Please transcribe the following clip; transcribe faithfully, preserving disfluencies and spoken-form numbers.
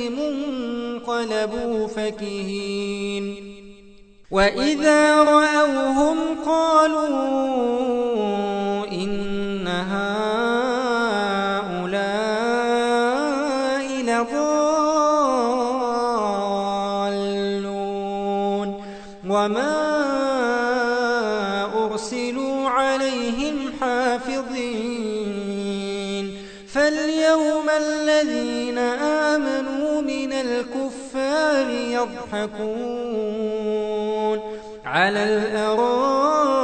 عليهم انقلبوا فكهين وإذا رأوهم قالوا إن هؤلاء لضالون وما أرسلوا عليهم حافظين فاليوم الذين آمنوا من الكفار يضحكون على الأرائك